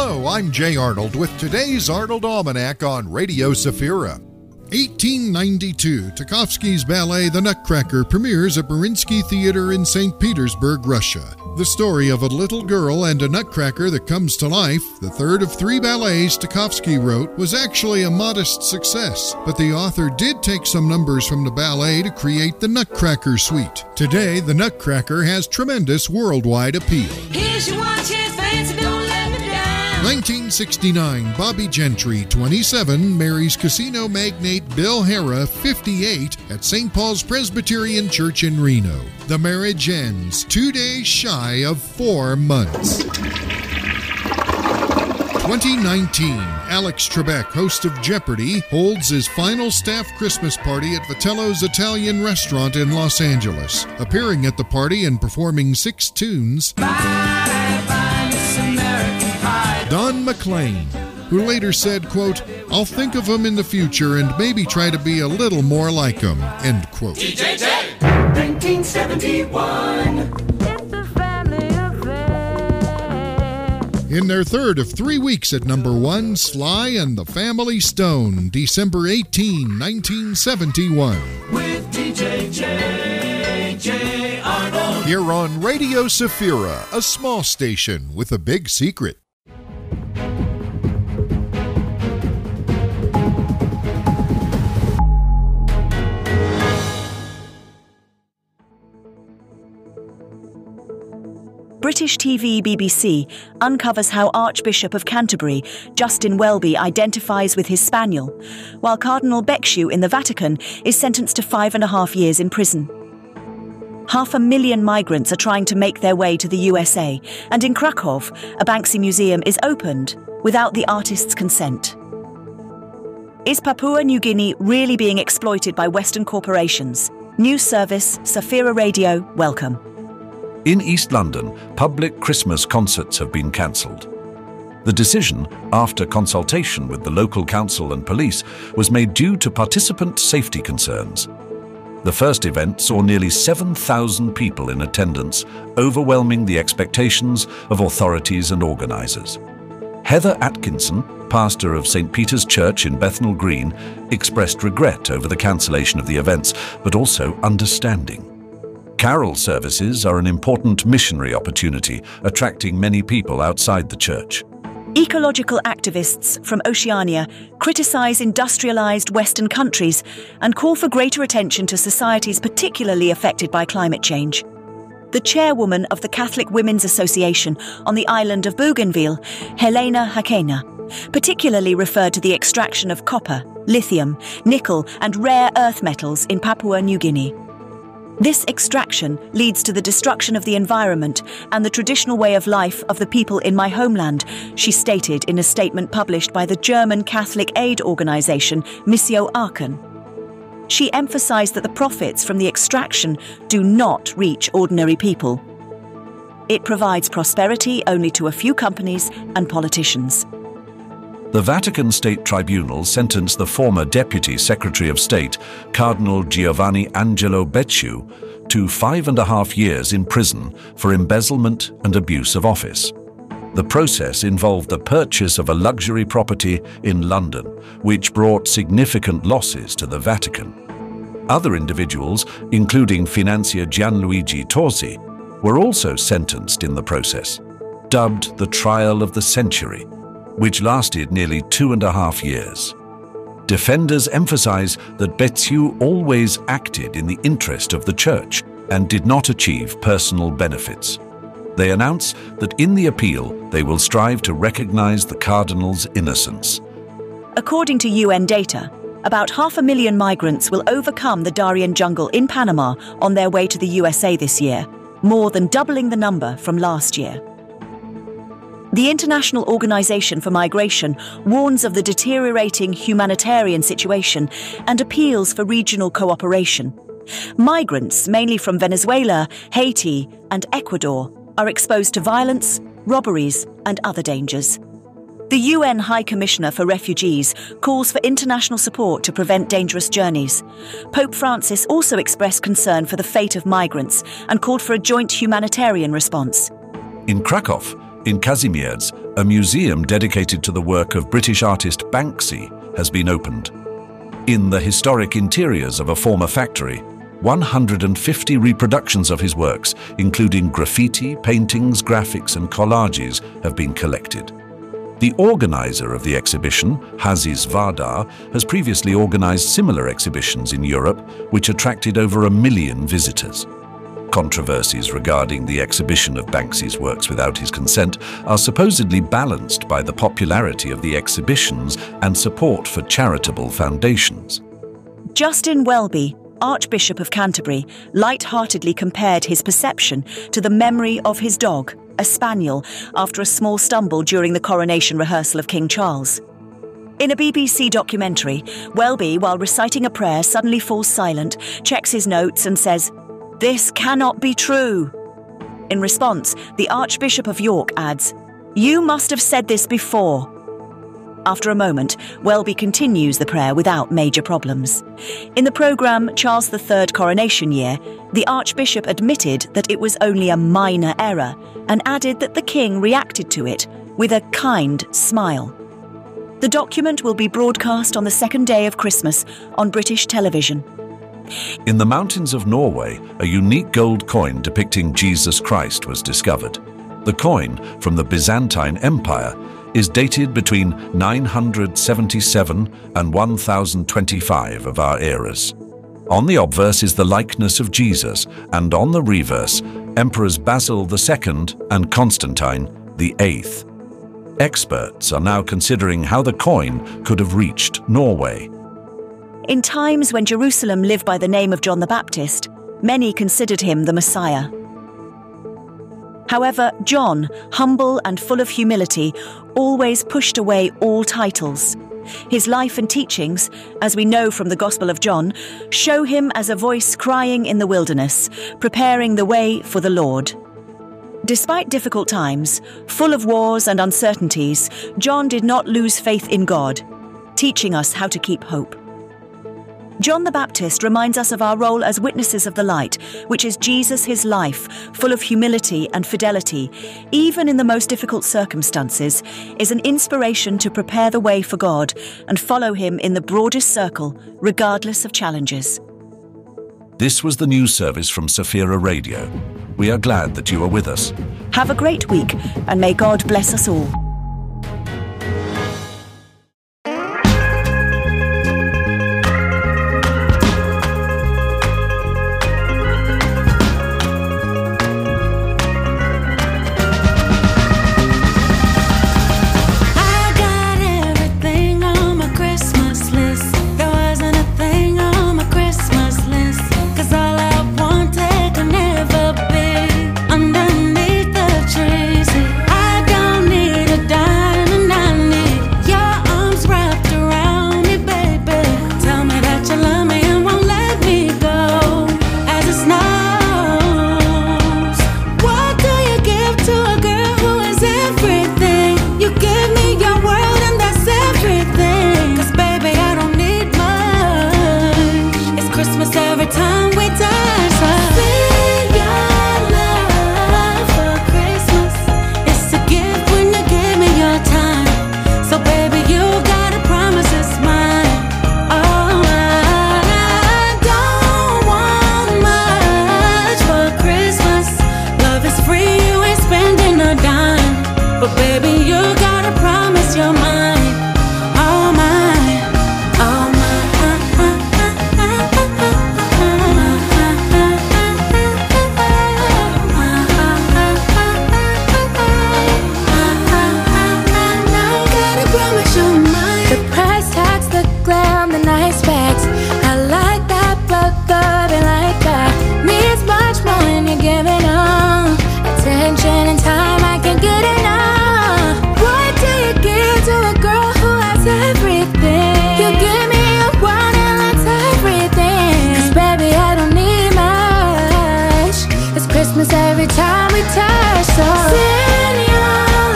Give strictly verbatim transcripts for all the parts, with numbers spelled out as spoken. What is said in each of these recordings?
Hello, I'm Jay Arnold with today's Arnold Almanac on Radio Safira. eighteen ninety-two, Tchaikovsky's ballet The Nutcracker premieres at Mariinsky Theater in Saint Petersburg, Russia. The story of a little girl and a nutcracker that comes to life, the third of three ballets Tchaikovsky wrote, was actually a modest success, but the author did take some numbers from the ballet to create the Nutcracker Suite. Today, the Nutcracker has tremendous worldwide appeal. Here's your one chance, fancy, don't let me down. nineteen sixty-nine, Bobby Gentry, twenty-seven, marries casino magnate Bill Harrah, fifty-eight, at Saint Paul's Presbyterian Church in Reno. The marriage ends two days shy of four months. twenty nineteen, Alex Trebek, host of Jeopardy, holds his final staff Christmas party at Vitello's Italian restaurant in Los Angeles. Appearing at the party and performing six tunes, Bye, bye, Miss American Pie. Don McLean, who later said, quote, "I'll think of him in the future and maybe try to be a little more like him," end quote. D J J. nineteen seventy-one. It's a family affair. In their third of three weeks at number one, Sly and the Family Stone, December eighteenth, nineteen seventy-one. With D J J, J Arnold. Here on Radio Safira, a small station with a big secret. British T V B B C uncovers how Archbishop of Canterbury, Justin Welby, identifies with his spaniel, while Cardinal Becciu in the Vatican is sentenced to five and a half years in prison. Half a million migrants are trying to make their way to the U S A, and in Krakow, a Banksy museum is opened without the artist's consent. Is Papua New Guinea really being exploited by Western corporations? News service, Safira Radio, welcome. In East London, public Christmas concerts have been cancelled. The decision, after consultation with the local council and police, was made due to participant safety concerns. The first event saw nearly seven thousand people in attendance, overwhelming the expectations of authorities and organisers. Heather Atkinson, pastor of Saint Peter's Church in Bethnal Green, expressed regret over the cancellation of the events, but also understanding. Carol services are an important missionary opportunity, attracting many people outside the church. Ecological activists from Oceania criticise industrialised Western countries and call for greater attention to societies particularly affected by climate change. The chairwoman of the Catholic Women's Association on the island of Bougainville, Helena Hakena, particularly referred to the extraction of copper, lithium, nickel and rare earth metals in Papua New Guinea. This extraction leads to the destruction of the environment and the traditional way of life of the people in my homeland, she stated in a statement published by the German Catholic aid organisation Missio Aachen. She emphasised that the profits from the extraction do not reach ordinary people. It provides prosperity only to a few companies and politicians. The Vatican State Tribunal sentenced the former Deputy Secretary of State, Cardinal Giovanni Angelo Becciu, to five and a half years in prison for embezzlement and abuse of office. The process involved the purchase of a luxury property in London, which brought significant losses to the Vatican. Other individuals, including financier Gianluigi Torsi, were also sentenced in the process, dubbed the Trial of the Century, which lasted nearly two and a half years. Defenders emphasize that Becciu always acted in the interest of the church and did not achieve personal benefits. They announce that in the appeal, they will strive to recognize the cardinal's innocence. According to U N data, about half a million migrants will overcome the Darien jungle in Panama on their way to the U S A this year, more than doubling the number from last year. The International Organization for Migration warns of the deteriorating humanitarian situation and appeals for regional cooperation. Migrants, mainly from Venezuela, Haiti, and Ecuador, are exposed to violence, robberies, and other dangers. The U N High Commissioner for Refugees calls for international support to prevent dangerous journeys. Pope Francis also expressed concern for the fate of migrants and called for a joint humanitarian response. In Krakow, In Kazimierz, a museum dedicated to the work of British artist Banksy has been opened. In the historic interiors of a former factory, one hundred fifty reproductions of his works, including graffiti, paintings, graphics and collages, have been collected. The organizer of the exhibition, Hazis Vardar, has previously organized similar exhibitions in Europe, which attracted over a million visitors. Controversies regarding the exhibition of Banksy's works without his consent are supposedly balanced by the popularity of the exhibitions and support for charitable foundations. Justin Welby, Archbishop of Canterbury, light-heartedly compared his perception to the memory of his dog, a spaniel, after a small stumble during the coronation rehearsal of King Charles. In a B B C documentary, Welby, while reciting a prayer, suddenly falls silent, checks his notes and says, "This cannot be true." In response, the Archbishop of York adds, "You must have said this before." After a moment, Welby continues the prayer without major problems. In the programme Charles the Third Coronation Year, the Archbishop admitted that it was only a minor error and added that the King reacted to it with a kind smile. The document will be broadcast on the second day of Christmas on British television. In the mountains of Norway, a unique gold coin depicting Jesus Christ was discovered. The coin, from the Byzantine Empire, is dated between nine hundred seventy-seven and one thousand twenty-five of our eras. On the obverse is the likeness of Jesus, and on the reverse, Emperors Basil the Second and Constantine the Eighth. Experts are now considering how the coin could have reached Norway. In times when Jerusalem lived by the name of John the Baptist, many considered him the Messiah. However, John, humble and full of humility, always pushed away all titles. His life and teachings, as we know from the Gospel of John, show him as a voice crying in the wilderness, preparing the way for the Lord. Despite difficult times, full of wars and uncertainties, John did not lose faith in God, teaching us how to keep hope. John the Baptist reminds us of our role as witnesses of the light, which is Jesus, his life, full of humility and fidelity, even in the most difficult circumstances, is an inspiration to prepare the way for God and follow him in the broadest circle, regardless of challenges. This was the news service from Safira Radio. We are glad that you are with us. Have a great week, and may God bless us all. Every time we touch, so send your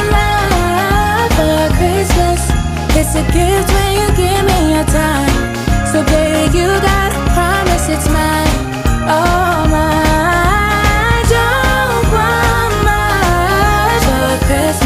love for Christmas. It's a gift when you give me your time. So baby, you gotta promise it's mine. Oh my, I don't want much for Christmas.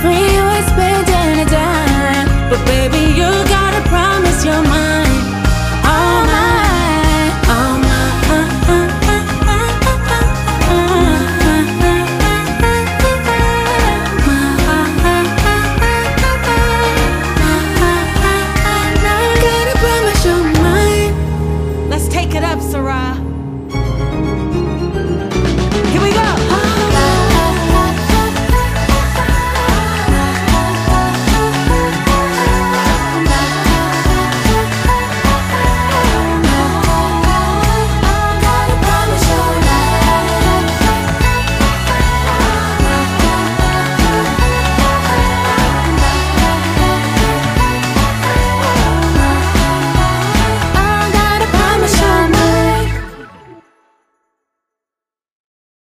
free.